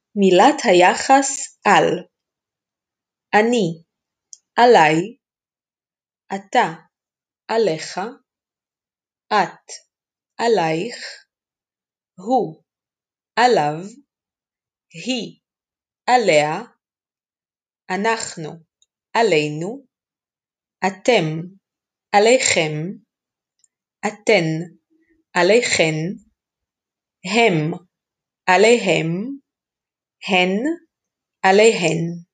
מילת היחס על. אני, עליי, אתה, עליך, את, עלייך, הוא, עליו, היא, עליה, אנחנו, עלינו, אתם, עליכם, אתן, עליכן, הם, עליהם, הן, עליהן.